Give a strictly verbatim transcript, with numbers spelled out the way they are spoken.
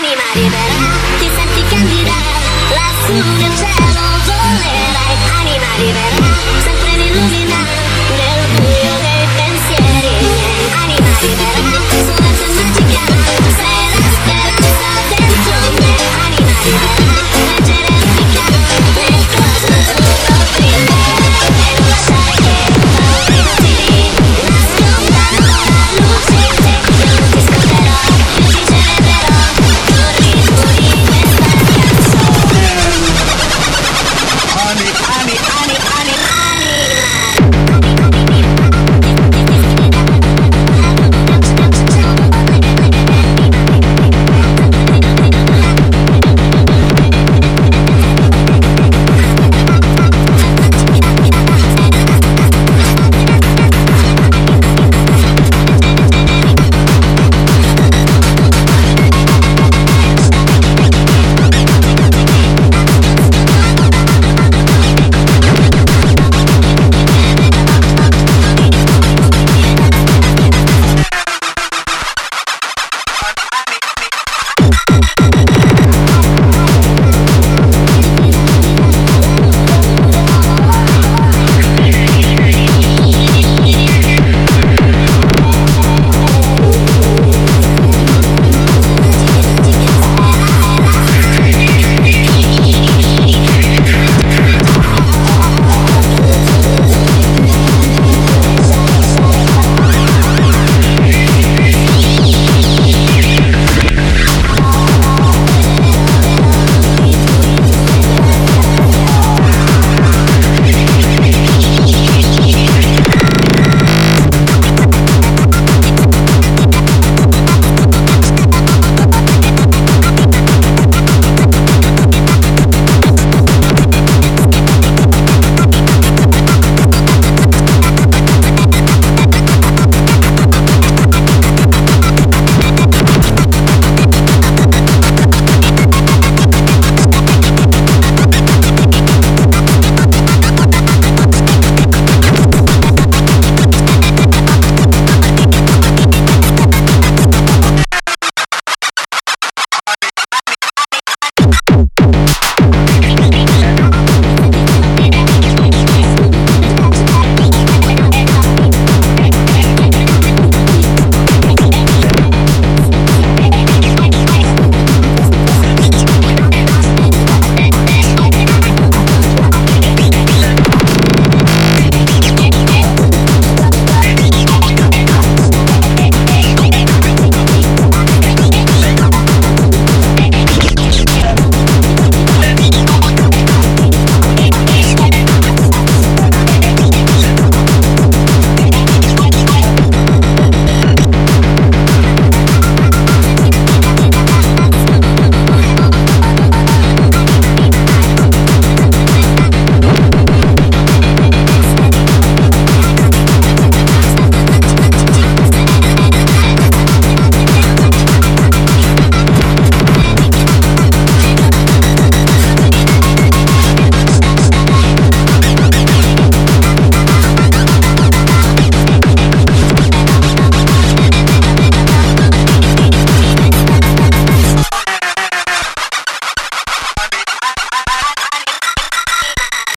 Anima libera, ti senti candida, lassù nel cielo volerai. Anima libera, sempre mi illumina nel buio dei pensieri miei. Anima libera, suonata magica, sei la speranza dentro me. Anima libera, leggera e antica, nel cosmo azzurro brilla. E non lasciare che paure inutili nascondano la luce in te. Io non ti scorderò, io ti celebrerò con ritmo di questa canzone. Ani, ani, ani, ani, Anima